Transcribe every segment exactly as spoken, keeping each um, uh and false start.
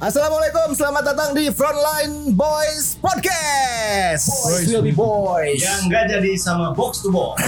Assalamualaikum, selamat datang di Frontline Boys Podcast. Boys will be boys. Yang nggak jadi sama box to box.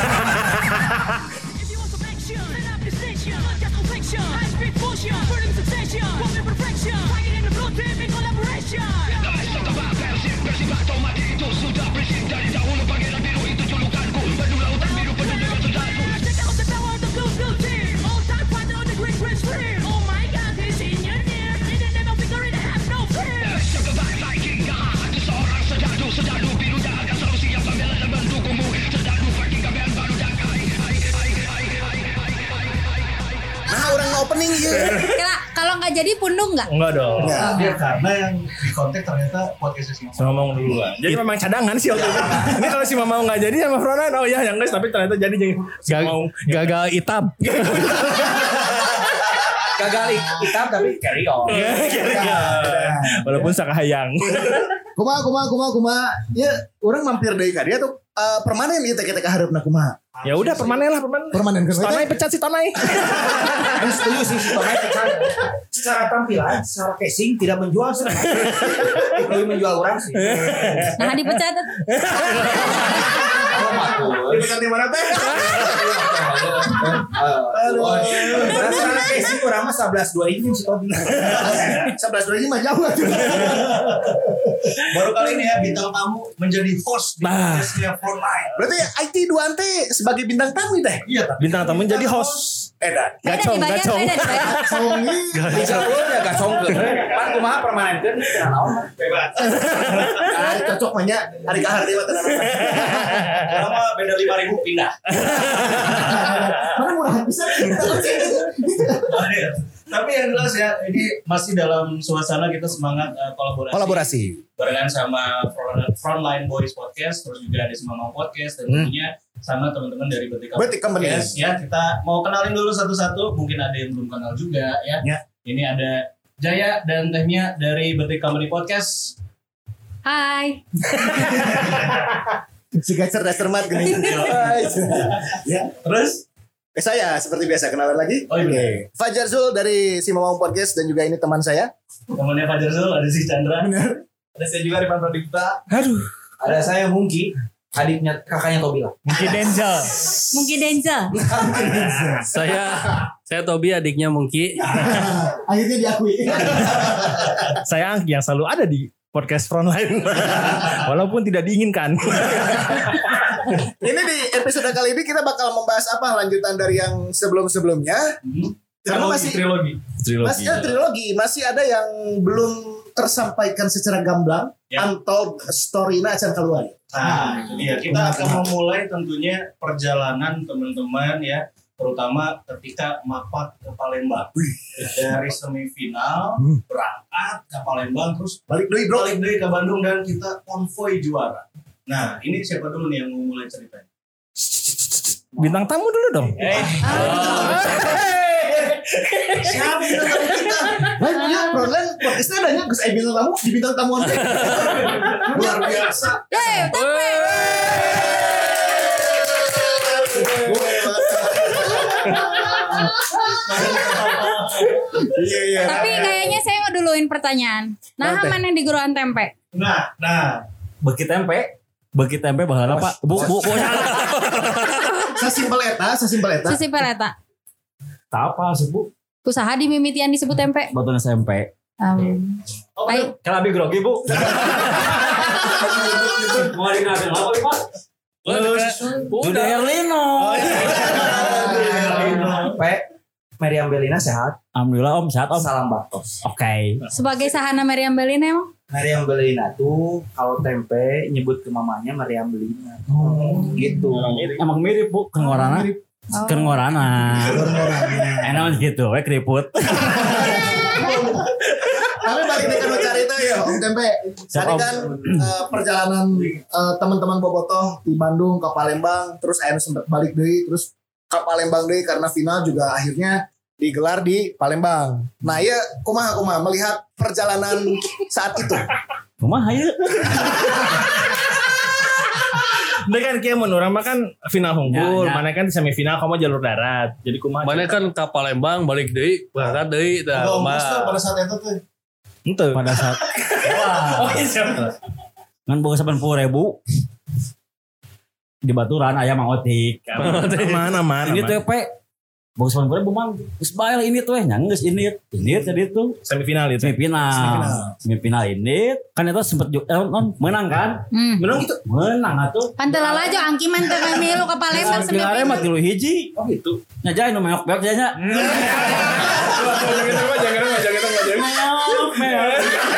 Opening ya. Kira kalau nggak jadi pundung nggak? Enggak dong. Nah, dia karena yang di kontak ternyata podcastnya si Sama Mamang duluan. Jadi memang cadangan sih waktu itu. Ini kalau si Mamang nggak jadi sama Frontline, oh ya yang guys, tapi ternyata jadi jadi si Mamang gagal itab. gagal itab tapi carry on. Walaupun sakahayang. Kumaha kumaha kumaha kumaha. Ya, orang mampir deui ka dia tuh uh, permanen ieu teh kita harapna kumaha. Ya udah permanen lah permanen. Permanen kan. Tanai pecat si Tanai. Kan setuju sih si Tanai pecat. Secara tampilan, secara casing tidak menjual sih. Lebih menjual orang sih. Nah dipecat. Dipecat di mana teh? Aduh. Secara casing orang mah sebelas dua ini si Tobi. sebelas dua ini mah jauh. Baru kali ini ya bintang tamu menjadi host di Nah. podcastnya Frontline. Berarti I T dua teh sebagai bintang tamu teh. Iya, tapi Bintang tamu jadi host. Edan. Gacong gacong. Songi. Dicampur ya gacong ke. Pan kumaha permanenkeun teu naon mah. bebas. Ah, cocok mah nya hari ka hari mah tenan. Orang mah beda lima ribu pindah. Mana murahan bisa kita. Tapi yang jelas ya, ini masih dalam suasana kita semangat uh, kolaborasi. Kolaborasi. Barengan sama Frontline Boys Podcast, terus juga ada Semamang Podcast, dan tentunya sama teman-teman dari Betik Betik Company. Podcast. Ya, kita mau kenalin dulu satu-satu, mungkin ada yang belum kenal juga ya. Ya. Ini ada Jaya dan Tehnya dari Betik Company Podcast. Hai. Si cerdas cermat gini. Ya. Terus Eh, saya seperti biasa kenalan lagi. Oh, iya. Fajar Zul dari Simamang Podcast dan juga ini teman saya. temannya Fajar Zul, ada si Chandra. Benar. Ada saya juga Rivan Pradipta. Aduh. Ada saya Mungki, adiknya kakaknya Tobila. Mungkin Denzel. Mungkin Denzel. Saya saya Tobi adiknya Mungki. Akhirnya diakui. Saya Angki yang selalu ada di podcast Frontline. Walaupun tidak diinginkan. Ini di episode kali ini kita bakal membahas apa lanjutan dari yang sebelum-sebelumnya. Hmm. Karena masih trilogi. masih ada trilogi, masih ada yang belum tersampaikan secara gamblang. Ya. Untold story-na acan keluar. Nah, itu dia. Kita akan memulai tentunya perjalanan teman-teman ya, terutama ketika mapak ke Palembang. Dari semifinal berangkat ke Palembang, terus Balik dulu bro. balik deh ke Bandung dan kita konvoy juara. Nah, ini siapa dulu nih yang mau mulai ceritanya? Bintang tamu dulu dong. Eh, siapa bintang tamu kita? Nah, iya, Frontline podcastnya adanya Gus Aibin tamu di bintang tamuan. Luar biasa. Yeay, tape. Iya iya. Tapi kayaknya saya mau duluin pertanyaan. Nah, Nanti. mana di guruan tempe? Nah, nah, Beki tempe. Beki tempe bahala Pak. Bu bu bu. Sasimpel eta, sasimpel eta. Sesimpel eta. Apa sih Bu? Usaha di mimitian disebut tempe. Batuan S M P. Um, oh, baik. Kan lebih grogi Bu. Mau dinasin apa Pak? Udah Herlino. Pak Meriam Belina sehat. Alhamdulillah Om sehat Om. Salam Baktos. Oke. Sebagai sahana Meriam Belina emang? Meriam Belina tuh kalau tempe nyebut ke mamanya Meriam Belina. Oh, gitu. Emang mirip Bu, kengorana. Oh. Kengorana. Enak gitu, we keriput. Tapi balik deh kan cerita ya Om Tempe. Tadi kan eh, perjalanan eh, teman-teman bobotoh di Bandung ke Palembang, terus akhirnya sempat balik deui, terus ke Palembang deui karena final juga akhirnya digelar di Palembang. Nah, ya kumaha kumaha melihat perjalanan saat itu. Kumaha ya? Nah kan kayak menurut orang mah kan final unggul, Ya, ya. mana kan di semifinal kamu jalur darat. Jadi kumaha? Mana kan ke Palembang balik deui, berangkat deui tah Kalau mah. Master pada saat itu tuh Itu. pada saat Oh iya. ngan boga delapan puluh ribu di Baturan aya Mang Otik. Mana mana. Ini tuh pe boga delapan puluh ribu mang geus bae lah ini tuh nya geus ini. Ini tadi itu Semifinal itu. semifinal. Semifinal ini kan eta sempet ju- eh, non, menang kan? Hmm. Menang gitu. Menang atuh. Pan teu lalajo angki mah teu milu ka Palembang Sampai arema semifinal. tilu hiji. Oh gitu. Nya jae nu meok beok nya nya. Jangan gitu mah, jangan mah, jangan mah, jangan. Meok meok.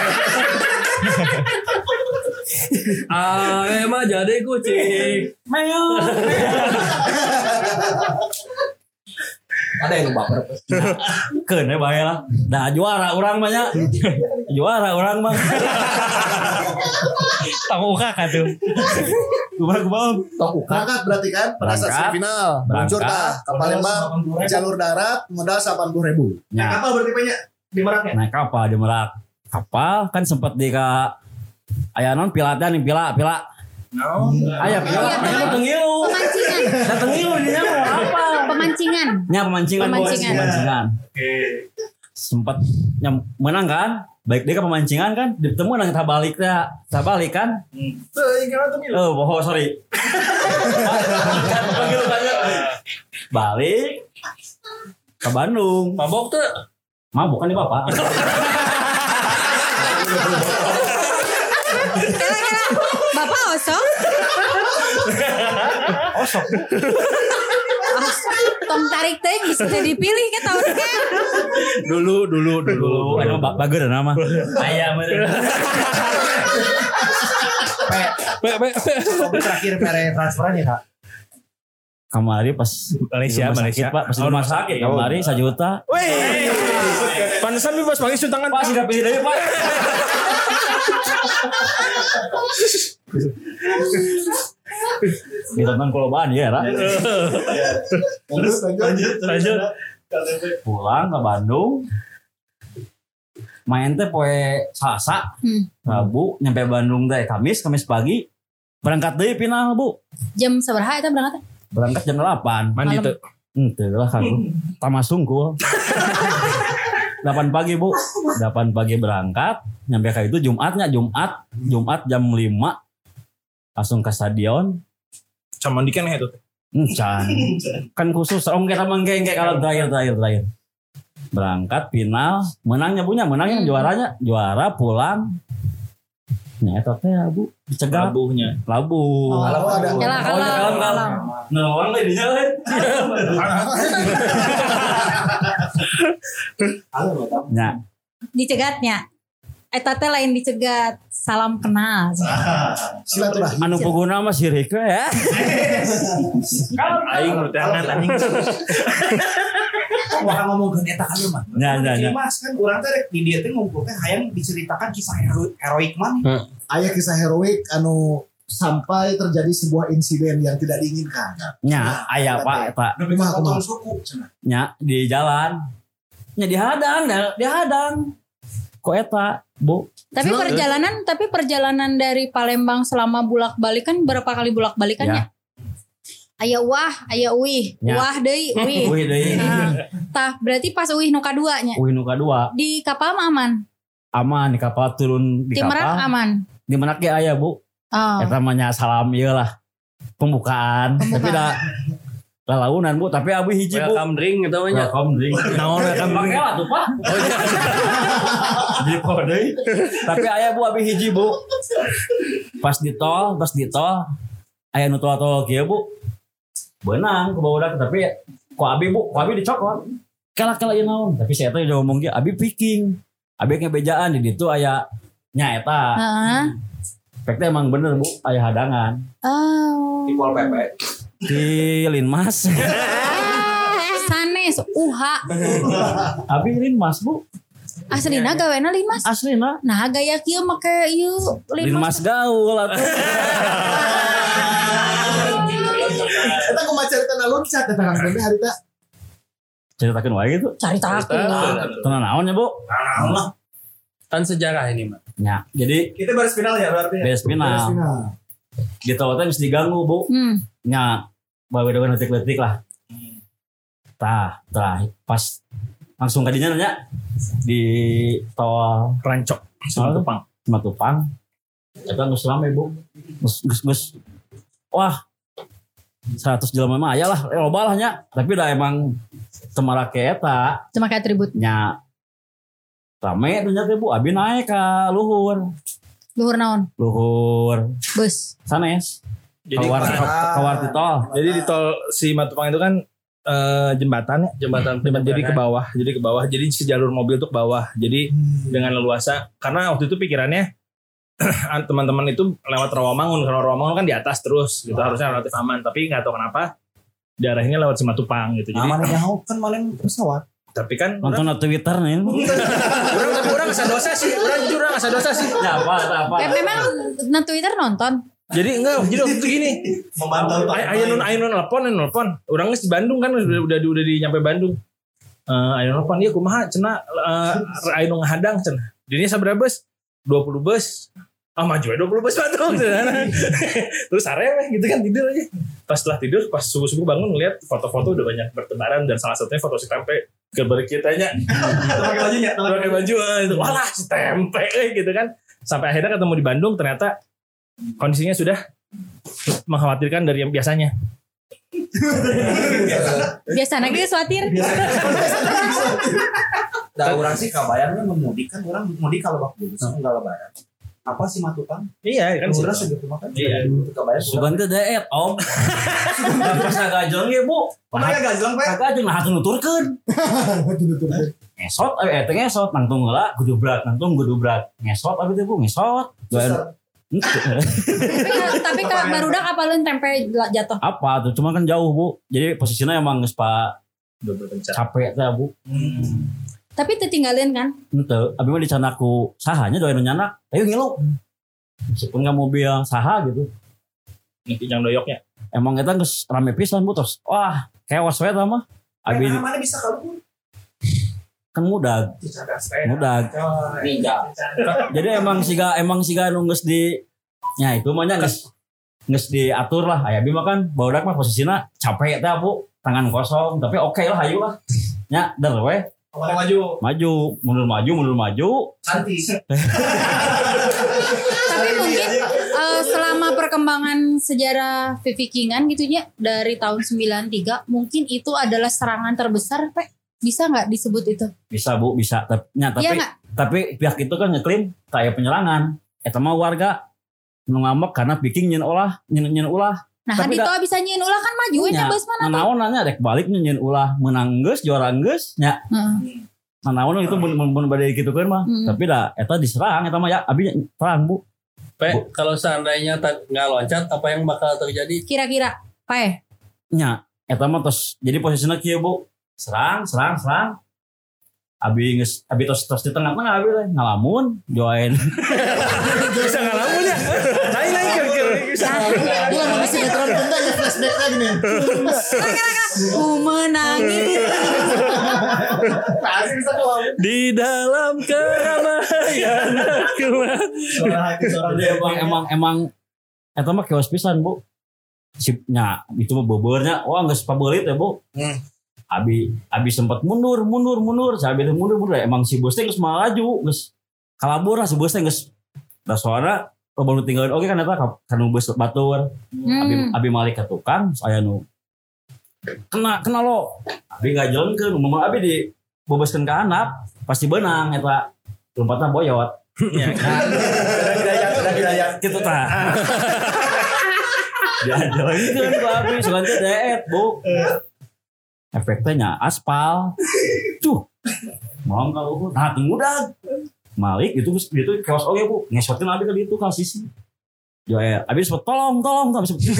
Ah, emang jadi kucing. Meok. Ada yang baper. Keun we bae lah. Dah juara urang mah nya. Juara urang mah. Tahu kakak tuh. Kumaha kumaha. Berangkat berarti kan pada saat Berangkat. semifinal. Meluncur Berangkat. tah ke Palembang jalur darat modal delapan puluh ribu. Nya. Kapal berarti banyak di Meraknya. Naik kapal di Merak. Kapal kan sempat di ka aya non pilatan nih pila pila. No. Aya pila. Iya, Aya mah tengilu. Pemancingan. Da tengilu di nya mau apa? Pemancingan. Nya pemancingan bos. Pemancingan. Pemancingan. Oke. Sempat nyam, menang kan? Baik dia ke pemancingan kan? Ditemu nang tah balik teh. Tah balik kan? Tuh, ini kan tuh Oh, bohong sorry. Panggil tanya. Balik ke Bandung. Mabok tuh. Mabuk kan di bapak. Kira-kira Bapak osok? Osok. Tong tarik teh bisa dipilih ke tahun ke. Dulu dulu dulu. Dulu anu ba- bager nama. Ayam. Be be. Kopi terakhir pere transferan ya kak. Kamari pas Malaysia, di rumah Malaysia. sakit, Pak, pas di rumah sakit kamari sejuta. Wih. Pantesan bebas panggil suntangan. Pak sudah pilih dari Pak. Ditonton kolobaan ya, Ra. Terus lanjut. Lanjut. Pulang ke Bandung. Main teh poe Selasa, Hmm. Rabu nyampe Bandung teh Kamis, Kamis pagi. Berangkat deui final, Bu. Jam sabaraha eta berangkat? Berangkat jam delapan. Mandi Malam. tuh. Henteu lah kan. Tamasung ku. delapan pagi, Bu. delapan pagi berangkat, nyampe ka itu Jumatnya, Jumat, Jumat jam lima. Langsung ke stadion. Sama mandikan itu. Encan. Kan khusus om kita menggeng kayak kalau terakhir terakhir terakhir. Berangkat final, menangnya punya, menangnya Hmm. juaranya, juara pulang. Nya eta teh Bu, dicegat Labuhnya. labu. Oh, Kalau ada. Kalah Oh, kalah. kalah, kalah. Nawang lagi dinya kan. Nya, Dicegatnya. Eta teh lain dicegat, salam kenal. Silaturahmi. anu puguna mah sirik we ya. Aing nu teh angan anjing. Wah ngomong ke eta kan mah. Nya, nya, nya. Mas kan urang teh di dieu teh ngumpul teh hayang diceritakan kisah hero- heroik man. Aya kisah heroik anu sampai terjadi sebuah insiden yang tidak diinginkan. Nya, aya Pak eta. Kumaha kumaha. Nya di jalan. Nya dihadang, dah- dihadang. Kok eta, Bu? Tapi Terus? perjalanan, tapi perjalanan dari Palembang selama bulak-balik kan berapa kali bulak-balikannya? Aya wah, aya uih, Ya. wah deui, uih. Wih deui. Nah, tah berarti pas uih nu kaduanya Wih nu kadua. di kapal mah aman, Aman di kapal turun di di Merak kapal. aman. Di Merak ge aya, Bu. Oh. Eta mah nya salam ieu lah. Pembukaan. Tapi dah lalaunan, Bu, tapi abi hiji, Bu. Welcome drink gitu nya. Welcome drink. Naon welcome Pakai drink? lah tuh, Pak. Di kode. Tapi aya Bu abi hiji, Bu. Pas di tol, pas di tol aya nu tol-tol kieu, Bu. Beunang ke bawah tapi ku abi, Bu, ku abi dicokot. Kala-kala ieu naon? Tapi saya teh udah ngomong ge abi picking. Abi ngebejaan di ditu aya nya eta. Heeh. Pek teh emang bener, Bu, aya hadangan. Oh. Di Pol P P. Di Linmas. Sanes uha. Abi Linmas, Bu. Aslina gawena Linmas. Aslina Nah gaya kieu make ieu Linmas gaul atuh. Eta kumaha cerita naluncat eta Kang Tempe harita. Ceritakeun wae gitu. Caritakeun. Tenan naon ya, Bu? Kan sejarah ini mah. Ya, jadi Kita baru final ya berarti. beres final. Final. Di tol teh mesti diganggu, Bu. Hmm. Nya, bawa dengan letik-letik lah. Tah, tah pas langsung kadinya nanya di tol Rancok Simatupang. Simatupang. Eta geus rame, Bu. Geus geus geus wah seratus jelema mah aya lah, loba lah nya. Tapi da emang temara ke eta Cuma kayak atribut. nya rame ternyata Bu. Abi naik ka luhur. Luhur naon? Luhur Bus. sanes. Jadi Kawar kawar di tol. Jadi di tol Simatupang itu kan eh, jembatan ya, jembatan jembatan jadi ke bawah, jadi ke bawah, jadi sejalur mobil tuh ke bawah. Jadi dengan leluasa karena waktu itu pikirannya teman-teman itu lewat Rawamangun, karena Rawamangun kan di atas terus, gitu harusnya relatif aman. Tapi nggak tahu kenapa daerahnya lewat Simatupang gitu. Jadi Aman jauh kan malam pesawat. tapi kan Nonton orang, na Twitter nih. orang tapi orang asa dosa sih, orang jujur orang asa dosa sih. Ya apa apa. Eh, memang na Twitter nonton. Jadi enggak, jadi waktu itu gini. Memantau Ay- Ayo nun ayo nun nelpon, ayo nelpon. Urang geus di Bandung kan udah udah udah di nyampe Bandung. Eh ayo nelpon ieu kumaha cenah eh ayo nu ngahadang cenah. Dirinya sabaraha bus? dua puluh bus. Ah maju aja dua puluh bus Bandung cenah. Terus sare weh gitu kan tidur aja. Pas setelah tidur pas subuh-subuh bangun ngeliat foto-foto udah banyak bertebaran dan salah satunya foto si Tempe gambar kitanya. pakai bajunya. Pakai baju eh, itu walah si Tempe eh, gitu kan. Sampai akhirnya ketemu di Bandung ternyata kondisinya sudah mengkhawatirkan dari yang biasanya. Biasanya gitu khawatir. Da urang sih kabayangnya memudik kan orang mudik kalau waktu dulu enggak lebaran. Apa sih Matupang? Iya kan Urang sih. segitu makan. Iya. Kabayang. Sugan teh daet om. Da pas ngagajong ge Bu. Pokoknya gajlang Pak. Ngagajong nah hatu nuturkeun. Ngesot eh teh ngesot nangtung heula gudubrak nangtung gudubrak. Ngesot abi teh Bu ngesot. Doan. tapi tapi kak barudak apalun tempe jatuh. Apa tuh cuma kan jauh Bu. Jadi posisinya emang geus pa Udah berpencar. capek teh Bu. Tapi tertinggalin kan? Henteu, abi mah dicanaku sahanya doain nyanak. Ayo ngilu. Meskipun enggak mobil saha gitu. Nih yang doyoknya. Emang kita geus rame pisan Bu terus. Wah, kewas we tah mah. Abi Abi mana bisa kalau kan mudah, mudah. Jadi emang siga emang siga nu geus di nya itu mah nya geus geus diatur lah. Aya abi mah kan barudak mah posisina capek teh Bu, tangan kosong, tapi oke lah hayu lah. Nya der we. Maju. Maju, mundur maju, mundur maju. Santi. Tapi mungkin eh, selama perkembangan sejarah Vikingan gitu ya dari tahun sembilan tiga mungkin itu adalah serangan terbesar, Pak. Bisa nggak disebut itu? Bisa Bu, bisa. Tapi nya tapi Iya nggak? tapi pihak itu kan ngeklaim kayak penyerangan. Eta mah warga nu ngambek karena Viking nyeun olah, nyeun nyeun ulah. Nah, Tapi kan itu da- bisa nyiin ulah kan maju nya Nya, bos mana? nanaon nanya dek balik nyeun ulah menang geus juara geus nya. Heeh. Nanaon itu mun mun mun bade kitu kan mah. Hmm. Tapi dah eta diserang eta mah ya abi terang Bu. Pe, kalau seandainya tak nggak loncat, apa yang bakal terjadi? Kira-kira, Pak. Nya eta mah tos jadi posisinya kieu Bu. Serang, serang, serang. Abi geus abi tos tos di tengah-tengah abi teh ngalamun join. Bisa ngalamun ya. Naik naik kira-kira bisa. Ini lama di sinetron tenda ya flashback lagi nih. Ku menangis. Pasti bisa ngelamun. Di dalam keramaian aku. Suara hati suara Jadi emang emang emang eta mah kewas pisan Bu. Sipnya itu mah bobornya wah geus pabeulit ya Bu. Hmm. Abi abi sempat mundur mundur mundur sabi teh mundur mundur emang si bos teh geus malaju geus kalabur lah si bos teh geus da suara lo baru tinggalin oke kan eta kan nu bus batur abi Hmm. abi malik ka tukang saya nu kena kena lo abi ngajelengkeun umum abi di boboskeun ka handap pasti beunang eta lompatna boyot Ya kan. gitu tah diajelengkeun ku abi sugan teh deet Bu efeknya aspal tuh mau nggak lu nah tunggu dah Malik itu itu kewas oke Bu ngesotin abi ke itu kasih sih jo ya abi sempat tolong tolong tolong sempat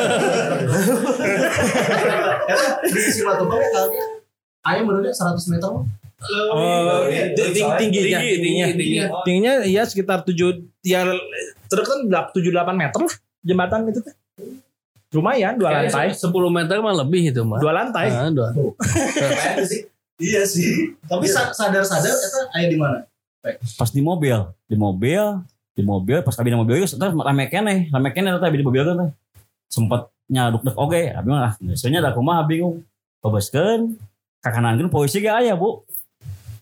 Di Simatupang ya kali ayam menurutnya seratus meter mah. Oh, ting- tingginya, tingginya, tingginya, tingginya ya sekitar tujuh, ya terus kan tujuh delapan meter lah jembatan itu teh. Lumayan dua lantai, sepuluh meter mah lebih itu mah. dua lantai. Ah, dua. Iya sih. Tapi sa- sadar-sadar itu aya di mana? pas di mobil di mobil di mobil pas kabin mobil itu terus rame keneh rame keneh tapi di mobil kan sempet nyaduk dek oke abi mah biasanya da kumaha bingung babaskeun ka kanankeun polisi ge aya Bu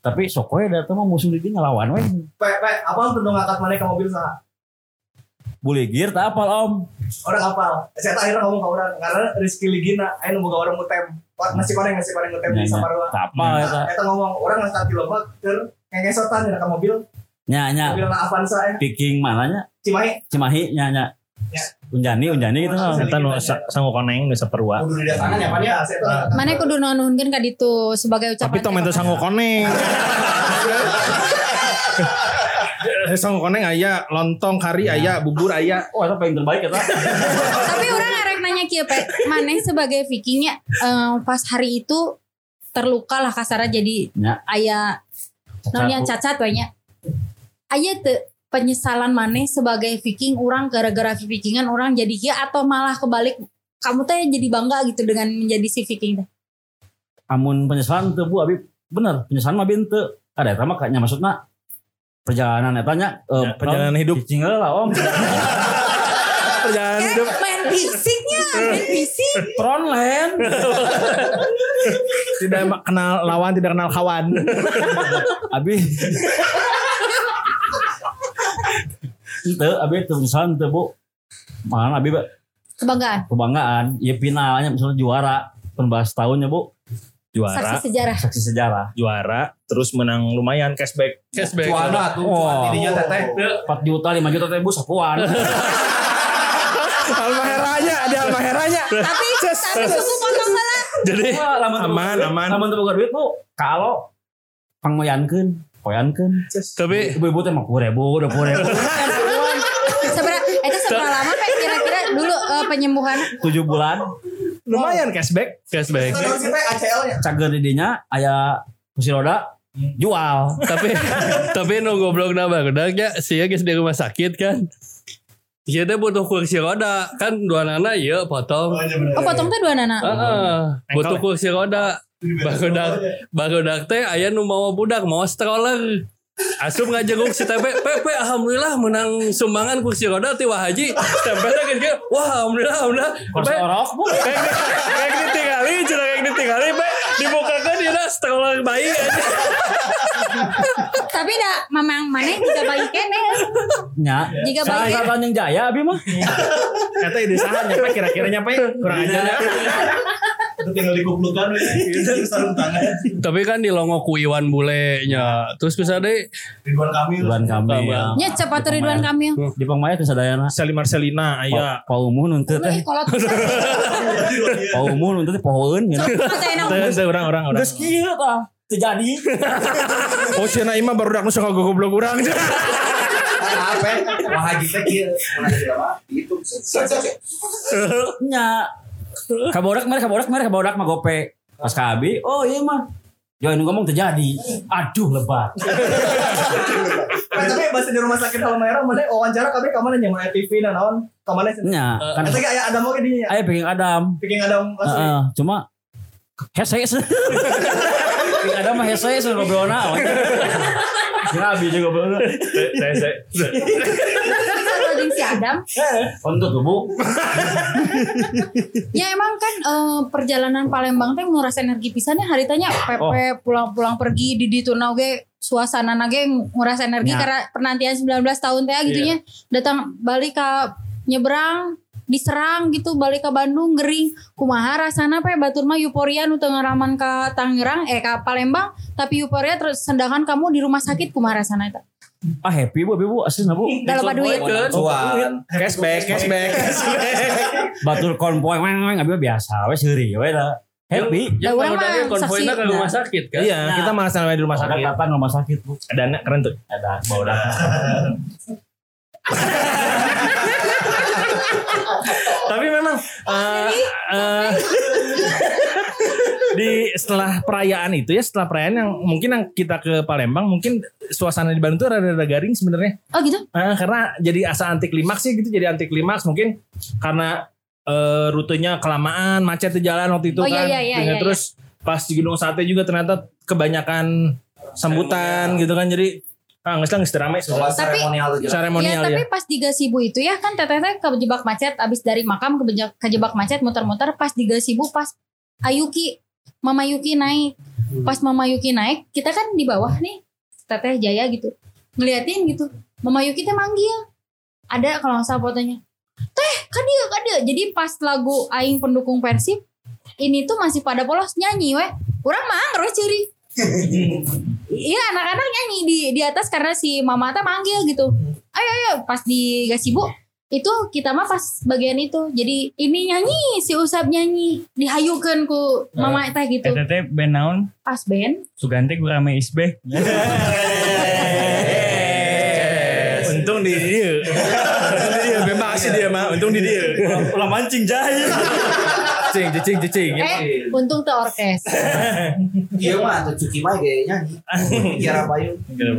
Tapi sokoy datang mah musuh dia ngelawan we. Pe, pe, apa tuh ngangkat mana ke mobil saha? Buligir tak apal om. Orang apal. Saya tak akhirnya ngomong ke orang karena Rizky Ligina, ayo nunggu orang mutem. Nasi koneng, nasi koneng mutem di Saparua. Tak apal eta. Eta ngomong orang ngangkat di lembak keur ngengesotan di mobil. Nya nya. Mobil na Avanza eh. Picking mananya? Cimahi. Cimahi nya nya. Ya. Unjani unjani gitu mah. Eta nu sanggo koneng nu saperua. Kudu didatangan ya pan ya. Mana kudu nuhunkeun ka ditu sebagai ucapan. Tapi tong mentu sanggo koneng. Sanggo koneng aya, lontong kari aya, bubur aya. Oh, itu paling terbaik eta. Tapi orang ngarek nanya kieu pe, maneh sebagai Vikingnya eh, pas hari itu terluka lah kasarnya jadi Nya. aya non yang cacat we nya. Aya teu penyesalan maneh sebagai Viking orang gara-gara Vikingan orang jadi kieu atau malah kebalik kamu teh jadi bangga gitu dengan menjadi si Viking teh. Amun penyesalan teu Bu Abi bener, penyesalan mah bin teu. Ada eta mah kayaknya maksudna perjalanan eta nya Ya, perjalanan hidup. Cicing lah om. Perjalanan hidup. Main fisiknya, main fisik. Frontline. Tidak kenal lawan, tidak kenal kawan. Abi. Ente, abi penyesalan teu Bu. Mana abi Kebanggaan. kebanggaan, ya finalnya misalnya juara penbahas tahunnya Bu, Juara, Saksi sejarah. saksi sejarah. juara, terus menang lumayan cashback. Cashback. Cuana tuh, Oh. tidinya teteh. empat juta, lima juta teh Bu sapuan. Almaheranya, ada almaheranya. Tapi tapi suku potong salah. Jadi Wah, lamun teu aman, boga- aman. Lamun teu boga duit Bu, kalau pangmoyankeun, poyankeun. Tapi Ibu-ibu teh mah sepuluh ribu, dua puluh ribu. Seberapa itu seberapa lama Pak kira-kira dulu eh, penyembuhan? tujuh bulan, Lumayan cashback. cashback. Itu sih pe A C L nya. cager di dinya aya kursi roda jual. tapi tapi nu goblok na bagudaknya sia geus di rumah sakit kan. Ieu teh butuh kursi roda kan dua nana ieu potong. Oh potong teh dua nana. Heeh, butuh kursi roda. Barudak barudak teh aya nu mau budak mau stroller. Asup ngajenguk si T P, Pepe alhamdulillah menang sumbangan kursi roda ti Wah Haji. Tempelnya gitu, wah alhamdulillah alhamdulillah. Kursi orok Bu. Kayak kayak ditinggali, cina kayak ditinggali, Pe dibukakan dia stroller bayi aja. Tapi dah mamang mana juga bayi kene. Nya. Jika bayi Salah Tanjung Jaya abi mah. Kata ide saha nyampe kira-kira nyampe kurang ajar ya. Itu tinggal dikuplukan itu sarung tangan. Tapi kan di longo ku Iwan Bule nya. Terus bisa deh Ridwan Kamil. Ridwan Kamil. nya cepat Ridwan Kamil. Di Pangmaya teh sadayana. Sali Marcelina aya. Pa umuh nuntut teh. Kalau Pa umuh nuntut teh pohoeun gitu. Teu orang-orang orang. Geus kieu tah. Teu jadi. Oh cenah imah baru dak nu suka goblok urang. Apa? Wah Haji teh kieu. Mun Haji lama itu. Nya. Kabodak mari kabodak mari kabodak mah gope. Pas ka abi, oh iya mah. Join ngomong terjadi. Aduh lebat. Nah, tapi bahasa di rumah sakit Halmahera mana wawancara kabeh ka mana nya mana T V na naon? Ka mana sih? Nya, kan Eta ge aya Adam oge dinya. aya pengen Adam. Bikin Adam asli. Heeh, cuma hese. Pengen Adam mah hese so ngobrolna. Kira abi juga ngobrolna. Saya saya. Kalau si Adam, Untuk tuh Bu. ya emang kan eh, perjalanan Palembang teh nguras energi pisannya haritanya Pepe pulang-pulang pergi di ditu ge suasana nage nguras energi Ya. karena penantian sembilan belas tahun teh gitunya datang balik ke nyebrang diserang gitu balik ke Bandung gering kumaha rasana pe batur mah euforia nu teu ngaraman ka Tangerang eh ka Palembang tapi euforia terus sedangkan kamu di rumah sakit kumaha rasana eta Ah happy Bu, abi Bu, aslinya Bu. dalam duit Cuan. Cashback, cashback. Batur konvoy weng weng abi mah biasa we seuri we da. Happy. Ya Lah, urang udahnya mah konvoyna saksi. ke rumah sakit kan. Iya, kita malah sampai di rumah sakit. Datang rumah sakit Bu. Ada anak keren tuh. Ada bawa datang. Tapi memang eh, eh, di setelah perayaan itu ya setelah perayaan yang mungkin yang kita ke Palembang mungkin suasana di Bandung tuh rada-rada garing sebenarnya. oh gitu Eh, karena jadi asa anti klimaks sih gitu jadi anti klimaks mungkin karena eh, rutenya kelamaan macet di jalan waktu itu Oh, iya, kan. iya, iya, Dengan iya, terus pas di Gunung Sate juga ternyata kebanyakan sambutan gitu kan jadi ah nggak nggak ramai Soal Tapi- seremonial tuh jelas. seremonial ya, ya. tapi pas di Gasibu itu ya kan teteh teh kejebak macet abis dari makam kejebak, kejebak macet muter-muter pas di Gasibu pas Ayuki Mama Yuki naik Pas Mama Yuki naik, kita kan di bawah nih, Teteh Jaya gitu, ngeliatin gitu. Mama Yuki teh manggil, ada kalau nggak salah fotonya, teh kadia kadia. Jadi pas lagu Aing pendukung Persib, ini tuh masih pada polos nyanyi weh, kurang mah terus ciri. Iya anak-anak nyanyi di di atas karena si Mama teh manggil gitu. Ayo ayo pas di gazebo itu kita mah pas bagian itu. Jadi ini nyanyi si Usap nyanyi dihayukeun ku Mama teh gitu. Eta teh band naon? Pas band Sugante Gurame Isbeh. Untung di dia. Untung di dia. Memang asli dia mah. Untung di dia. Ulah mancing jahil. Cicing, cicing, cicing. Eh untung tuh orkes. Iya mah tuh Cuki mah gaya nyanyi. Kira Bayu.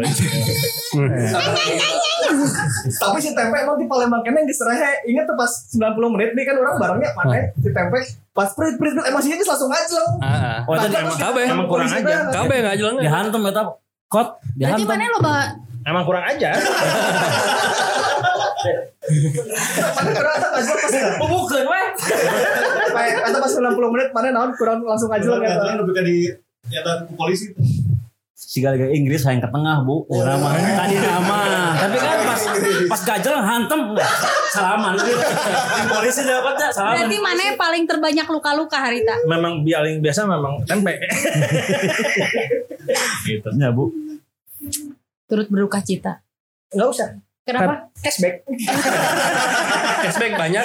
Tapi si Tempe emang di Palembang kene geus rehe. Ingat tuh pas sembilan puluh menit nih kan orang barengnya mana si Tempe pas prit prit emosinya geus langsung ngajleng. Heeh. Oh, itu Emang Kabeh. emang kurang aja. Kabeh ngajelang. dihantem eta kot Berarti dihantem. mana lo bah Emang kurang aja. Mana kurang asa ngajleng pas Bukan weh. kayak kata pas sembilan puluh menit mana naon kurang langsung ngajleng ya. Jangan lebih ke di nyata ke polisi. Siga liga Inggris yang ke tengah bu, nama tadi nama. Tapi kan pas pas gajel hantem salaman. Polisi dapatnya salaman. berarti mana yang paling terbanyak luka-luka Harita? Memang paling biasa memang tempe. Gitu. Ya bu. Turut berduka cita. Enggak usah. Kenapa? Cashback. Cashback banyak.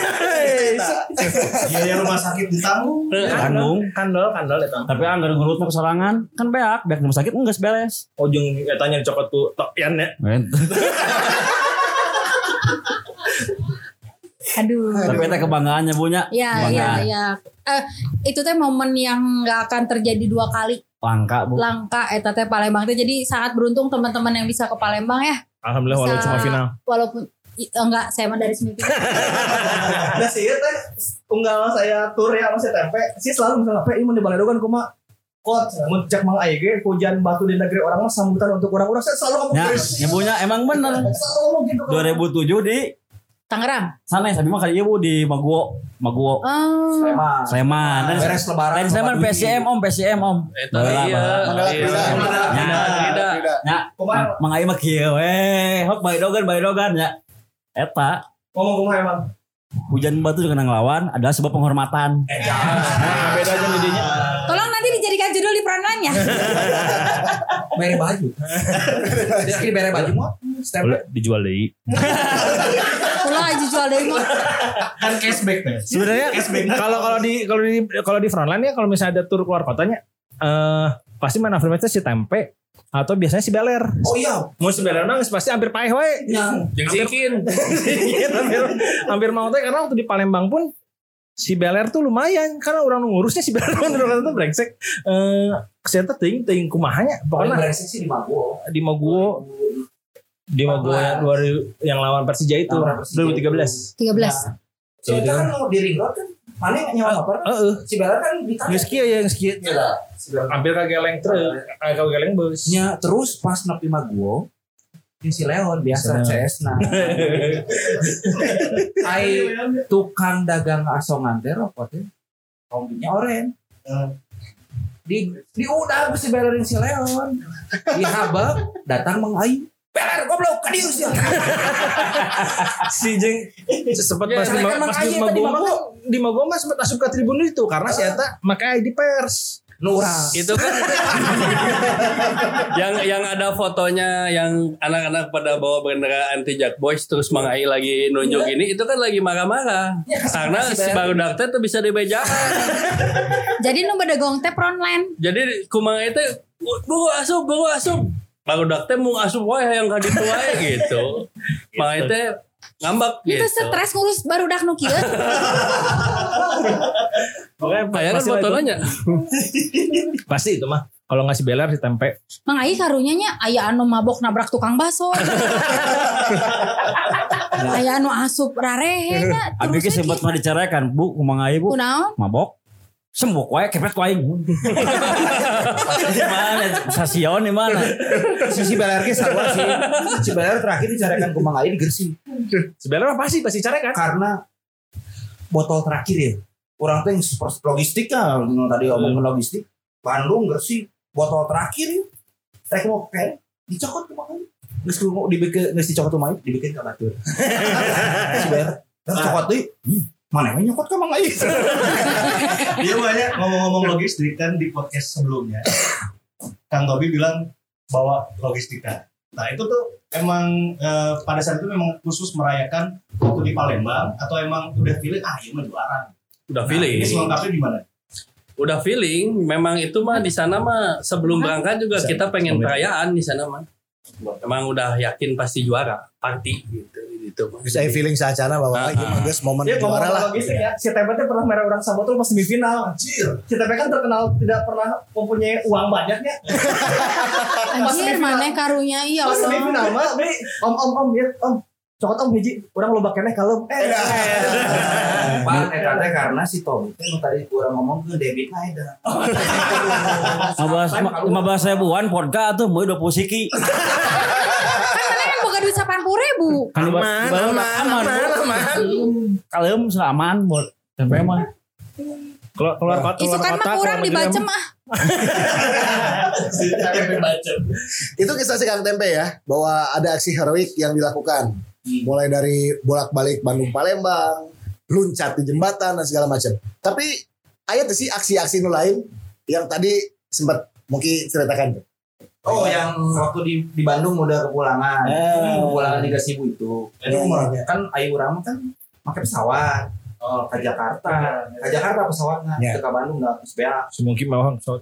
Biaya rumah sakit ditanggung. Bandung. Kandol, kandol itu. Tapi anggar ngurutnya kesorangan kan beak, beak rumah sakit enggak beres. Ujung etanya dicokot tuh tokian ya. Aduh. Tapi itu kebanggaannya punya. Ya, ya, ya. Eh, itu teh momen yang nggak akan terjadi dua kali. Langka bu. Langka eta teh Palembang teh. Jadi sangat beruntung teman-teman yang bisa ke Palembang ya. Alhamdulillah walau Bisa- cuma final. Walaupun i- enggak, saya mah dari semifinal. Nah sih teh unggal saya tur ya sama si Tempe sih selalu misalnya Pe ieu mun di Baledogan kumaha kot mun cek mang aya ge hujan batu di negeri orang mah sambutan untuk orang-orang saya selalu ngomong Ya, terus. ya punya emang bener. Selalu ngomong gitu. dua ribu tujuh di Tangerang. sana ya, tapi mah kali ibu di Maguwo, Maguwo. Oh. Emang. Sleman. Dan Beres lebaran. lain Sleman P S M Om, P S M Om. Eta iya. Mandala Iya. Prida. Beda. Ya, mang aing mah kieu we. Hok bae dogan, bae dogan ya. Eta Ngomong kumaha emang. hujan batu dengan ngelawan adalah sebuah penghormatan. Nah, beda aja jadinya. Tolong nanti dijadikan judul di frontline ya. Mere baju. Rizky mere baju mah. Boleh dijual deh. Ulah aja jual dari mah. Kan cashback nih. Sebenarnya kalau kalau di kalau di kalau di frontline ya kalau misalnya ada tur keluar kotanya eh pasti mana affirmative si Tempe atau biasanya si Beler. Oh iya. Mau si Beler mah pasti hampir paeh we. Yang Jeung sikin. hampir hampir mau teh karena waktu di Palembang pun si Beler tuh lumayan karena orang ngurusnya si Beler pun orang itu brengsek. Eh kesehatan ting ting kumahanya paling pokoknya beresik sih di Mago. di Maguwo di Maguwo yang dua ribu yang lawan Persija itu Lawan Persija dua ribu tiga belas. tiga belas. Si Eta kan mau di ring road kan. Mana yang nyawa motor? Heeh. Si Bella kan di Geus kieu ya geus kieu. Iya. Si Bella. Hampir kageleng truk, eh kageleng bus. Nya terus pas nepi Maguwo yang si Leon biasa C S nah. Ai tukang dagang asongan teh rokok teh. Kombinya oren. Di di udah si Bella jeung si Leon. Di habak datang Mang Ai. Beler goblok ka dieu sia. Si jeng sempat Ya, pas di kan pas di makanya tadi Maguwo mah Maguwo. di Maguwo mah sempat asup ke tribun itu karena si eta make I D pers. Nu urang. Itu kan yang yang ada fotonya yang anak-anak pada bawa bendera anti Jack Boys terus Mang Ai lagi nunjuk ini itu kan lagi marah-marah karena si barudak teh tuh bisa dibejakan. Jadi nu bedegong teh frontline. Jadi ku Mang Ai teh bu asup bu asup barudak teh mau asup wae yang ka ditu wae gitu. Mang Ai teh ngambek Itu gitu. stres ngurus barudak nu kieu. Pokoknya Kayak kan pasti lah fotonya. itu. Pasti itu mah. Kalau nggak si Beler si Tempe. Mang Ai karunya nya aya anu mabok nabrak tukang baso. Aya anu asup rarehe nya. Abi ge sempat mah diceraikan Bu, kumang aya Bu. Kunaon? Mabok. Sembok wae kepet wae. Di mana? Sasion di mana? Si si Beler ge sarua sih. Si Beler terakhir dicarekan ku Mang Ai di Gresik. Si Beler mah pasti pasti cara kan. Karena botol terakhir ya. Orang tuh yang super logistik kan, tadi ngomongin logistik. Bandung gak sih botol terakhir ya. Rek mau kayak dicokot tuh makanya. Geus mau dibikin geus dicokot tuh mah dibikin ka batur. Sebenarnya dan cokot deui. Mana yang nyokot ka Mang Ai? Dia banyak ngomong-ngomong logistik kan di podcast sebelumnya. Kang Tobi bilang bawa logistika. Nah itu tuh emang eh, pada saat itu memang khusus merayakan waktu di Palembang atau emang udah feeling ah ini mah juara. Udah Nah, feeling. ini selengkapnya gimana? Udah feeling. Memang itu mah di sana mah sebelum berangkat juga kita pengen perayaan di sana mah. Emang udah yakin pasti juara, party gitu gitu mah. Saya feeling sacana bahwa ini mah geus momen Ya juara lah. logistik ya. Si T P teh pernah merah orang Sabotol pas semifinal. Anjir. Si T P kan terkenal tidak pernah mempunyai uang banyaknya. Anjir mana karunya iya Pas Allah. semifinal mah beli om om om ya om. Cokot om hiji, orang loba keneh kalem. Eh. Pan eta teh karena si Tommy teh nu tadi urang ngomong ke debit na eta. lima belas ribuan vodka tuh mau dua puluh siki. Kan mana kan boga duit delapan puluh ribu. Aman, aman, aman, aman. Kalem aman buat tempe mah. Keluar keluar kota. Isu kan mah kurang dibaca mah. Itu kisah si Kang Tempe ya, bahwa ada aksi heroik yang dilakukan. Mulai dari bolak-balik Bandung Palembang, luncat di jembatan dan segala macam. Tapi aya tuh sih aksi-aksi nu lain yang tadi sempat mungkin ceritakan. Oh yang waktu di di Bandung udah kepulangan. Eh. Kepulangan di Gasibu itu. Itu mah kan ayu urang kan pakai pesawat. Oh, ke Jakarta. Ke Jakarta pesawatnya. Ya. Ke Bandung enggak S B A. Semungkin mau pesawat.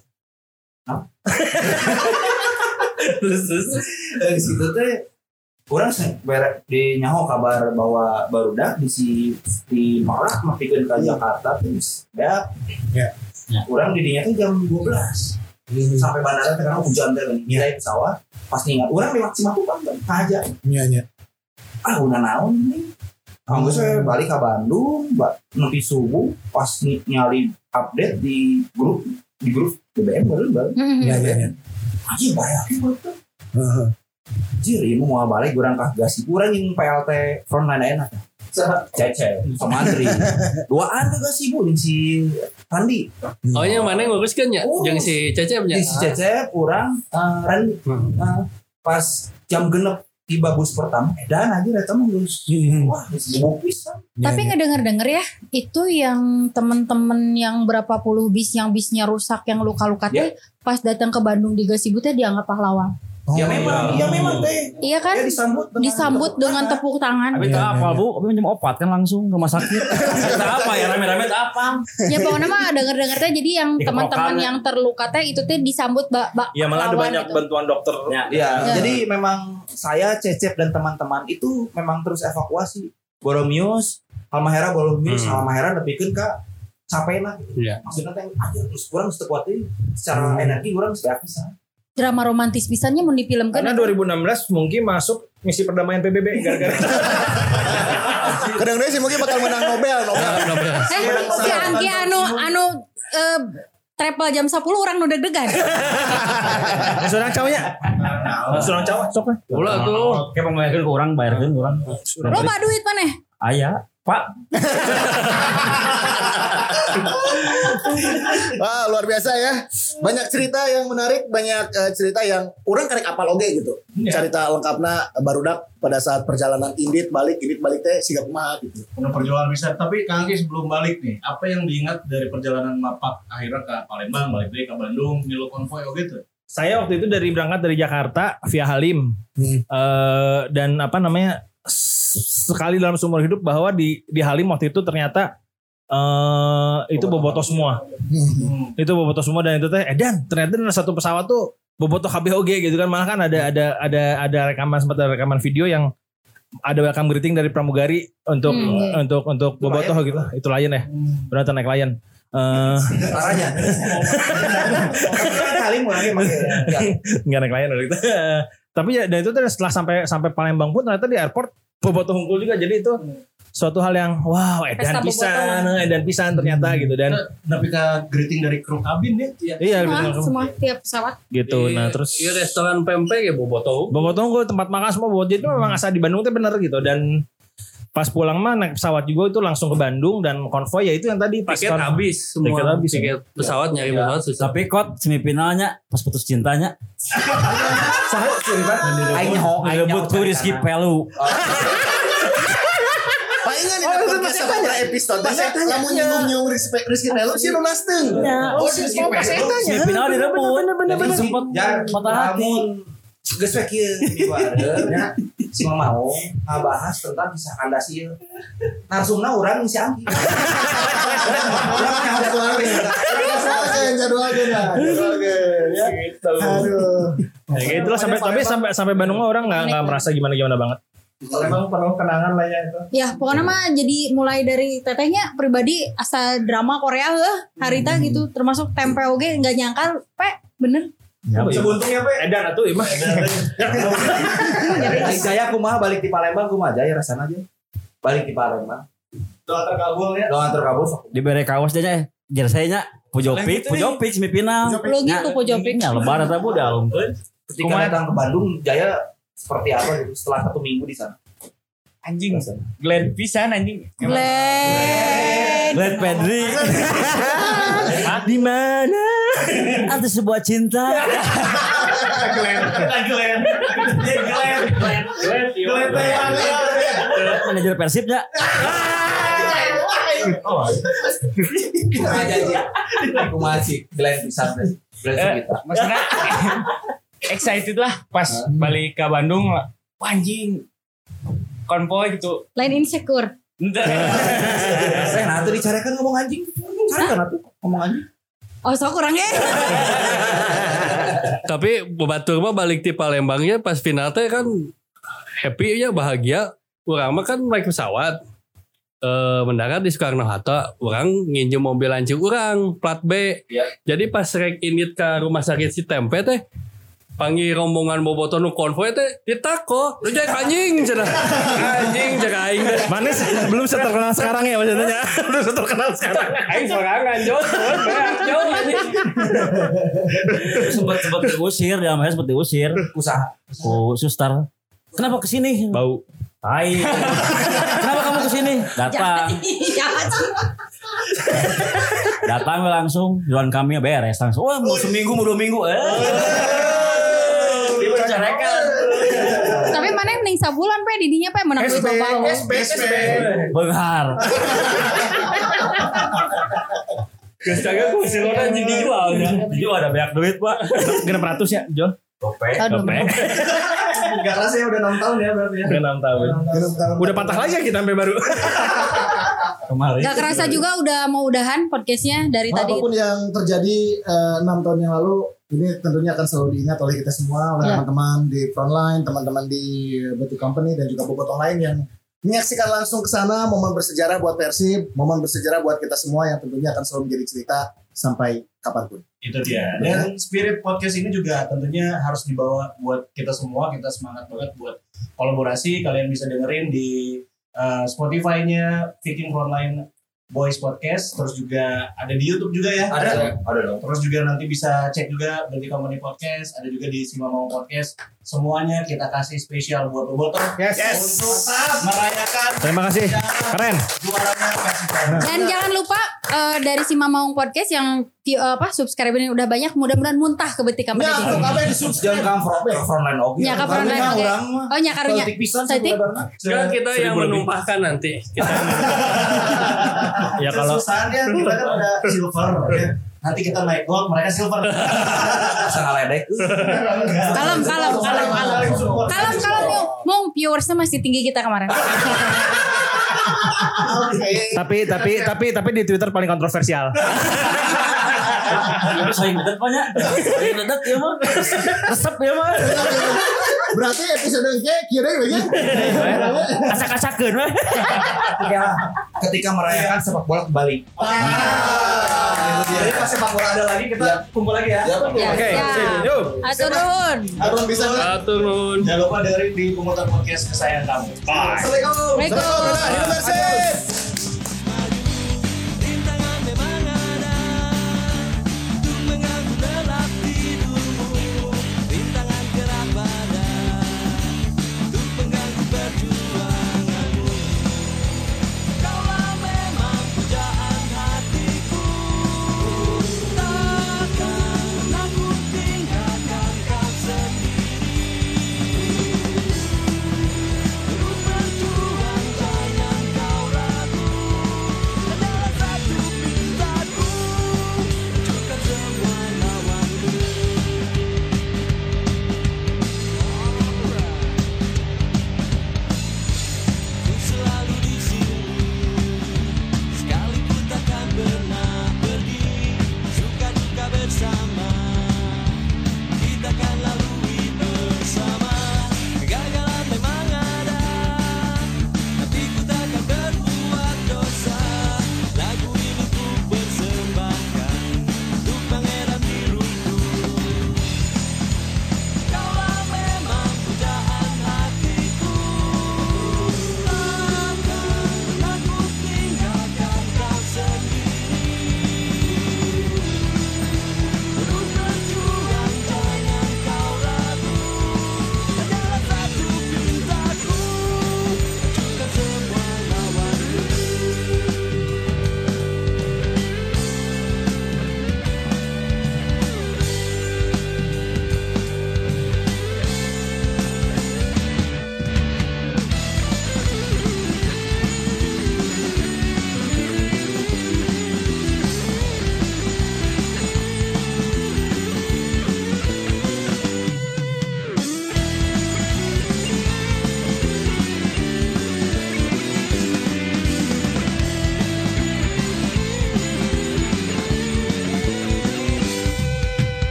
Terus terus dari situ teh orang di nyaho kabar bahwa barudak di si di Marak mapikeun ka Jakarta terus ya. Ya. Orang di dinya tuh jam dua belas. Sampai bandara teh kan hujan teh nih. Naik pesawat pas ingat orang lewat Cimakukan ka aja. Iya nya. Ah udah naon nih. Kamu saya balik ke Bandung, nanti subuh pas ny- nyali update di grup di grup B B M baru baru. Iya iya iya. Aji bayarnya betul. Jir, ibu mau balik kurang kah gasi kurang yang P L T frontline enak. Cece, sama Andri. Duaan ke gasi bu, yang si Randi. Oh yang mana nguruskan ya? Oh. Yang si Cecepnya. Yang si Cece kurang uh, Randi. Uh, pas jam genep tiba bus pertama, edan aja datang ngurus. Wah, sibuk pisan. Tapi ngedenger-denger ya, itu yang temen-temen yang berapa puluh bis yang bisnya rusak yang luka-luka teh pas datang ke Bandung di Gasibu teh dianggap pahlawan. Oh, Ya memang, ya memang teh. Iya kan? Ya disambut dengan Disambut dengan tepuk tangan. Tapi tak apa bu, tapi minjem obat kan langsung rumah sakit. Tak apa ya rame-rame tak apa. Ya pokoknya mah denger-denger teh jadi yang Di teman-teman kerokan. yang terluka teh itu teh disambut bak bak Ya malah ada pahlawan banyak gitu. bantuan dokter. Ya. Ya, Ya. jadi memang saya Cecep dan teman-teman itu memang terus evakuasi. Boromius, Halmahera, Boromius, Hmm. Halmahera nepikeun ka capena gitu. Iya. Maksudnya teh aja terus kurang teu kuat deui secara energi kurang teu bisa. Drama romantis pisannya mau difilmkan. Karena dua ribu enam belas mungkin masuk misi perdamaian P B B gara-gara Kadang dia sih mungkin bakal menang Nobel, Nobel. Eh, si Anggi anu anu eh, travel jam sepuluh orang nu deg-degan. Surang cowoknya. Surang cowok sok lah. Ulah tuh. Kayak pengbayarkan ke orang, bayarkan ke orang. Loba duit maneh. Ayah, Pak. Wah, luar biasa ya. Banyak cerita yang menarik, banyak eh, cerita yang orang karek apal oge gitu. Cerita lengkapna barudak pada saat perjalanan Indit balik, Indit balik teh siga kumaha gitu. Udah perjalanan besar. Tapi Kang Anggi sebelum balik nih, apa yang diingat dari perjalanan Mapak akhirnya ke Palembang, balik lagi ke Bandung, milu konvoy oh gitu? Saya waktu itu dari berangkat dari Jakarta via Halim. Eh, dan apa namanya s- sekali dalam seumur hidup bahwa di di Halim waktu itu ternyata eh itu bobotoh semua. Itu bobotoh semua dan itu teh edan ternyata ada satu pesawat tuh bobotoh K B O G gitu kan, malah kan ada ada ada ada rekaman sempat ada rekaman video yang ada welcome greeting dari pramugari untuk Hmm, iya. untuk untuk bobotoh gitu. Itu Lion ya. Berarti naik Lion. Eh Caranya. Kali mulai make. nggak naik Lion gitu. Tapi ya dan itu tuh setelah sampai sampai Palembang pun ternyata di airport bobotoh hungkul juga, jadi itu suatu hal yang wow edan Pesta pisan, edan pisan ternyata gitu dan Tapi ke greeting dari kru kabin ya? iya Semua, gitu, semua tiap pesawat. gitu. Nah terus Iya restoran pempek ya bobotoh. bobotoh hungkul tempat makan semua bobotoh, jadi memang asal di Bandung tuh bener gitu dan Pas pulang mah naik pesawat juga itu langsung ke Bandung dan konvoy ya itu yang tadi Tiket Piston. habis semua. Tiket habis, Tiket pesawat nyari pesawat susah. Tapi kot semifinalnya pas putus cintanya Aing nyaho, aing rebut ku Rizky Pelu. Palingan di podcast sama episode kamu nyinggung-nyinggung respect Rizky Pelu sih lunas teuing. Oh, Rizky Pelu. Semifinal direbut. Jadi sempat patah hati. Geus we kieu di bareng nya si Mamau ngabahas tentang kisah kandas ieu. Narsumna urang si Anggi. Jadwalkeun jadwalkeun lah. Jadwalkeun ya. Aduh. Ya gitu lah sampai tapi sampai sampai Bandung mah orang nggak nggak merasa gimana gimana banget. Memang penuh kenangan lah ya itu. Ya pokoknya mah jadi mulai dari tetehnya pribadi asa drama Korea heuh harita gitu termasuk tempe oge nggak nyangka pe bener. Sebuntungnya pe. Edan atuh imah. Aing Jaya kumaha balik di Palembang kumaha Jaya rasana aja. Balik di Palembang. Doa terkabul ya. Doa terkabul. Dibere kawas dia nya jerseynya Pujopik, Pujopik semifinal. Lo gitu Pujopik. Ya lebaran teh udah alungkeun. Ketika datang ke Bandung Jaya seperti apa gitu setelah satu minggu di sana. Anjing. Glenn pisan anjing. Glenn. Glenn Pedri. Di mana ada sebuah cinta? Glenn. Glenn. Glenn. Glenn. Glenn. Manajer Persibnya. Kumaha Jaya. Kumaha sih Glenn pisan teh. Glenn kita. Maksudnya excited lah pas balik ke Bandung. Anjing. Konvoy gitu. Lain insecure. Saya nah tuh dicarekan ngomong anjing. Carekan atuh ngomong anjing. Oh so kurangnya. Tapi batur mah balik di Palembangnya pas final teh kan happy nya bahagia. Urang mah kan naik pesawat. Eh mendarat di Soekarno Hatta, urang nginjem mobil lancip urang plat B. Ya. Jadi pas rek init ke rumah sakit si Tempe teh panggil rombongan bobotoh nu konvoy teh ditako lu jadi anjing cenah anjing jaga aing teh Manis belum terkenal sekarang ya maksudnya. Belum terkenal sekarang. aing sorangan jauh jauh anjing sempat sempat diusir ya, namanya sempat diusir Usaha. oh suster kenapa kesini Bau. hai kenapa kamu kesini datang datang langsung jualan kami beres langsung wah mau seminggu mau dua minggu eh dipercayakan Tapi mana mending sabulan pe didinya pe menang duit bapak. S B S B. benghar geus kagak ku silona jadi dijual nya dijual ada banyak duit pak Genep ratus ya Jol. topeng Topeng. Gak rasa ya udah enam tahun ya berarti ya. Udah enam tahun. Udah patah lagi ya kita sampai baru. kemarin Gak kerasa juga udah mau udahan podcastnya dari tadi. Apapun yang terjadi eh, enam tahun yang lalu, ini tentunya akan selalu diingat oleh kita semua, oleh Ya. teman-teman di frontline, teman-teman di Betu Company dan juga bobotoh lain yang menyaksikan langsung ke sana momen bersejarah buat Persib, momen bersejarah buat kita semua yang tentunya akan selalu menjadi cerita sampai kapanpun. Itu dia. Dan spirit podcast ini juga tentunya harus dibawa buat kita semua. Kita semangat banget buat kolaborasi. Kalian bisa dengerin di uh, Spotify-nya Viking Frontline Boys Podcast. Terus juga ada di YouTube juga ya. Ada, ada dong. Terus juga nanti bisa cek juga Berarti Company Podcast. Ada juga di Simamau Podcast. Semuanya kita kasih spesial buat bobotoh. Yes. Untuk merayakan Terima kasih. Keren. juaranya Persib. Dan jangan lupa eh, dari si Mamaung Podcast yang view- eh, apa subscribernya udah banyak, mudah-mudahan muntah ke Betik Company. Ya, untuk apa yang Jangan di-subscribe? kan front frontline oke. Ya ke frontline Karena oke. orang mah Oh nya karunya. Celtic pisan Celtic? sebenarnya. Sekarang kita yang menumpahkan nanti kita Ya kalau Kesusahannya kita kan udah silver ya. Nanti kita naik gold, mereka silver. Bisa ngaledek. Kalem, kalem, kalem, kalem. Kalem, kalem yuk. Mau viewersnya masih tinggi kita kemarin. tapi tapi tapi tapi di Twitter paling kontroversial. saing dedet banyak saing dedet ya mah resep ya mah Berarti episode ini kira ya. kasak-kasakeun mah Ketika, ketika merayakan sepak bola kembali. Jadi pas sepak bola ada lagi kita kumpul lagi ya. Ya, Oke, siap. yuk. Atur nuhun. Abang bisa nggak? atur nuhun. Jangan lupa dengerin di Pemutar Podcast kesayangan kamu. Bye. Assalamualaikum. Waalaikumsalam. Hidup Persib.